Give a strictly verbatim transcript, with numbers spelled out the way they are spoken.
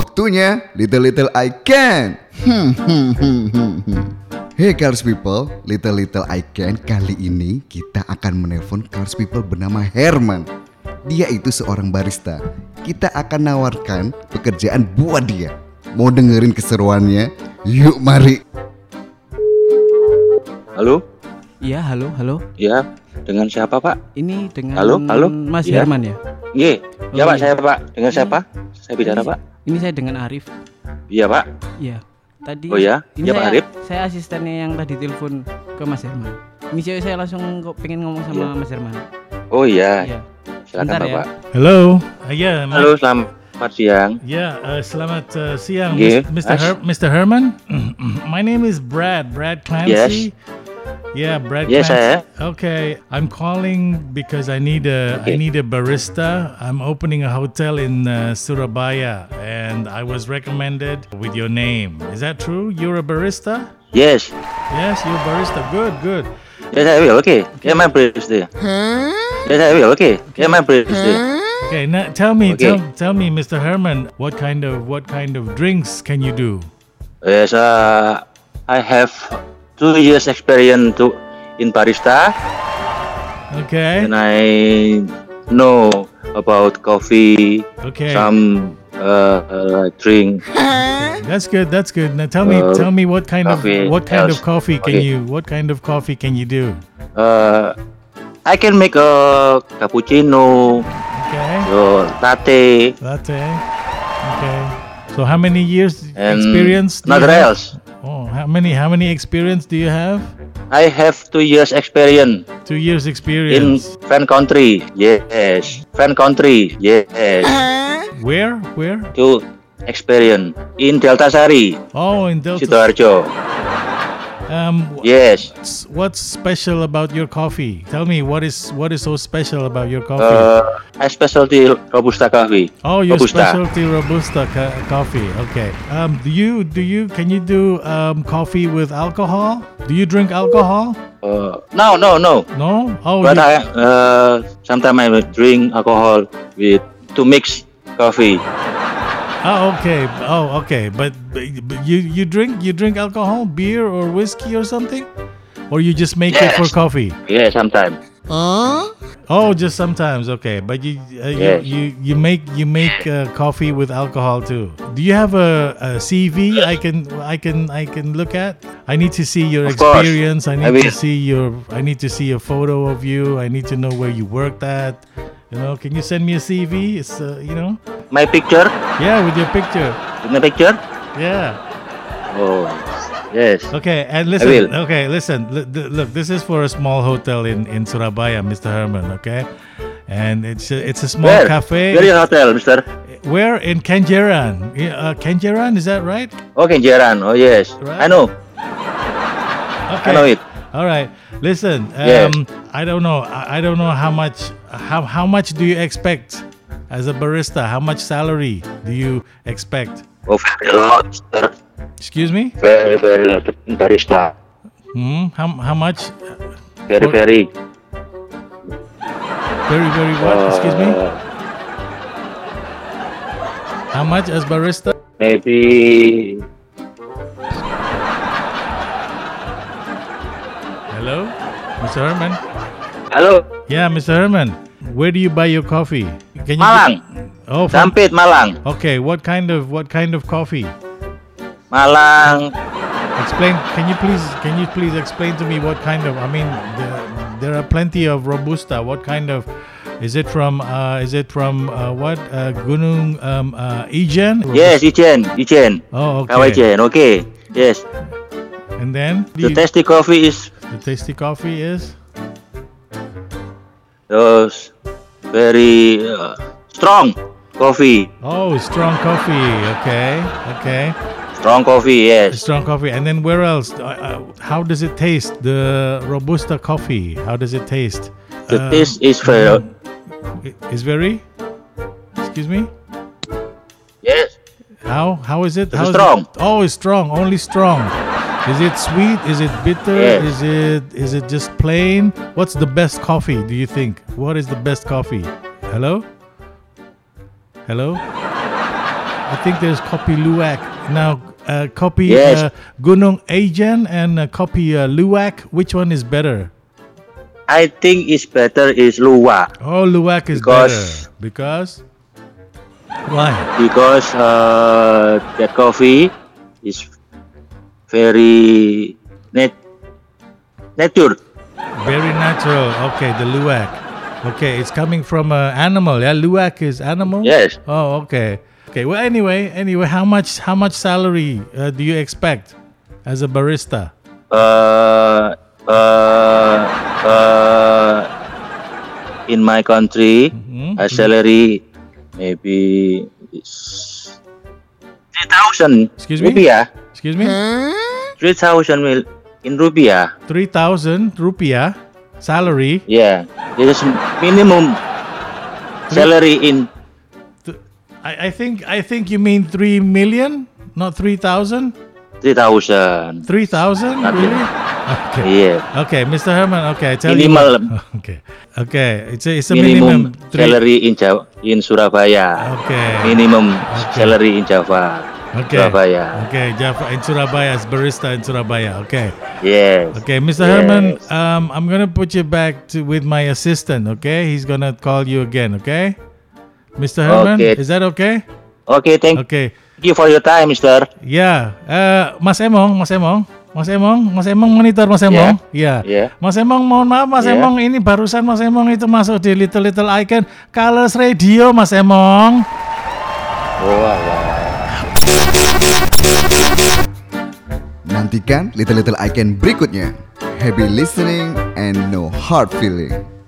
Waktunya Little Little I Can. Hey Cars People, Little Little I Can. Kali ini kita akan menelpon Cars People bernama Herman. Dia itu seorang barista. Kita akan nawarkan pekerjaan buat dia. Mau dengerin keseruannya? Yuk mari. Halo? Iya, halo, halo. Ya, dengan siapa Pak? Ini dengan Halo, halo? Mas Ya. Herman ya? Iya, Oh, ya Pak, iya. saya Pak. Dengan siapa? Saya bicara Ini- Pak. Ini saya dengan Arif. Iya Pak. Iya. Tadi Oh ya? ini Iya, Pak saya, Arif. Saya asistennya yang tadi telepon ke Mas Herman. Ini cewek saya langsung kok pengen ngomong sama Iya. Mas Herman. Oh iya, Iya. silakan Bentar ya. Bapak. Hello. Uh, yeah. my- Halo, selamat siang. Yeah. Uh, selamat uh, siang, Yeah, Mis- Mister Ash. Her- Mister Herman. My name is Brad. Brad Clancy. Yeah, Brad Yes, Clancy. saya. Okay, I'm calling because I need a I Okay. need a barista. I'm opening a hotel in uh, Surabaya, and I was recommended with your name. Is that true? You're a barista? Yes. Yes, you're a barista. Good, good. Yes, I will. Okay. Yeah, my birthday. Yes, I will. Okay. Yeah, my birthday. Okay, now tell me, Okay. tell, tell me, Mister Herman, what kind of what kind of drinks can you do? Yes, uh, I have two years experience to in barista, Okay. and I know about coffee, Okay. some uh, uh, drink. That's good. That's good. Now tell me, Uh, tell me what kind of coffee what kind of else. coffee can Okay. you what kind of coffee can you do? Uh, I can make a cappuccino, Okay. uh, latte, Latte. Okay. So how many years and experience? do you nothing have? else. Oh, how many how many experience do you have? I have two years experience Two years in experience. fan country. Yes, fan country. Yes, Where? Where? two experience in Delta Sari, Oh, in Delta. Sidoarjo. Um, Yes. what's, what's special about your coffee? Tell me what is what is so special about your coffee? Uh, I specialty robusta coffee. Oh, your Robusta. specialty robusta ca- coffee. Okay. Um, do you do you can you do um coffee with alcohol? Do you drink alcohol? Uh, no, no, no. No. Oh, But you- I uh, sometimes I will drink alcohol with to mix coffee. oh, okay. Oh, okay. But, but but you you drink you drink alcohol, beer or whiskey or something, or you just make it for Yes. coffee? Yeah, sometimes. Oh, just sometimes. Okay, but you uh, Yes. you, you you make you make uh, coffee with alcohol too. Do you have a, a C V I can I can I can look at? I need to see your Of course. experience. I I need to will. see your I need to see a photo of you. I need to know where you worked at. You know, can you send me a C V? It's uh, you know, My picture, yeah, with your picture. with my picture. Yeah. Oh, yes. Okay, and listen. will. Okay, listen. Look, look, this is for a small hotel in in Surabaya, Mister Herman. Okay, and it's a, it's a small Where? cafe. Where is your hotel, Mister? Where in Kenjeran? Yeah, Uh, Kenjeran, is that right? Oh, Kenjeran. Oh, yes. Right. I know. Okay. I know it. All right. Listen, um, Yes. I don't know. I, I don't know how much. How how much do you expect as a barista? How much salary do you expect? Oh, very lot, Mister. Excuse me. Very, very lot. Barista. Hmm. How how much? Very, What? very. Very very what? Excuse me. Uh, How much as barista? Maybe Hello, Mister Herman. Halo, Yeah, Mister Herman. Where do you buy your coffee? Can you? Malang. Oh, from, Sampit, Malang. okay. What kind of what kind of coffee? Malang. Explain. Can you please? Can you please explain to me what kind of? I mean, there, there are plenty of robusta. What kind of? Is it from? Uh, is it from uh, what? Uh, Gunung um, uh, Ijen? Yes, Ijen, Ijen. Oh, okay. Kawajen. Okay. Yes. And then The you- tasty coffee is the tasty coffee is. those very uh, strong coffee. Oh, strong coffee. Okay. Okay. Strong coffee. Yes. Strong coffee. And then where else? Uh, uh, how does it taste? The robusta coffee. How does it taste? The Um, taste is very. i- is very. Excuse me. Yes. How how is it? It's How is strong. It? Oh, it's strong. Only strong. Is it sweet? Is it bitter? Yes. Is it is it just plain? What's the best coffee? Do you think? What is the best coffee? Hello. Hello. I think there's Kopi Luwak. Now, uh, Kopi Yes. uh, Gunung Ajan and uh, Kopi uh, Luwak. Which one is better? I think it's better is Luwak Oh, Luwak is Because- better. Because? Why? because uh, that coffee is very nat nature. Very natural. Okay, the Luwak. Okay, it's coming from an animal. Yeah, Luwak is animal. Yes. Oh, okay. Okay. Well, anyway, anyway, how much how much salary uh, do you expect as a barista? Uh, uh, uh, in my country, Mhm. a salary maybe is three thousand Excuse me? rupiah. Excuse me. Three thousand mil in rupiah. Three thousand rupiah salary. Yeah, this is minimum salary in. I, I think I think you mean three million, not three thousand. Three thousand. Three thousand, Nothing. really? Okay. Yeah. Okay, Mister Herman. Okay, I tell Minimal. you. What. Okay. Okay. It's a it's a Minimum, minimum. three- salary in Jawa, in Surabaya. Okay. Minimum Okay. salary in Java. Okay. Surabaya. Okay, Jaffa in Surabaya as barista in Surabaya. Okay. Yes. Okay, Mister Yes. Herman, um, I'm gonna put you back to with my assistant. Okay, he's gonna call you again. Okay, Mister Herman, Okay. is that okay? Okay, thank Okay. you for your time, Mister. Ya, eh, Mas Emong, Mas Emong, Mas Emong, Mas Emong monitor Mas Emong. Ya. Yeah. Mas Emong, mohon maaf Mas Yeah. Emong, ini barusan Mas Emong itu masuk di Little Little Icon Colors Radio, Mas Emong. Oh, wow. Nantikan Little Little Icon berikutnya. Happy listening and no hard feeling.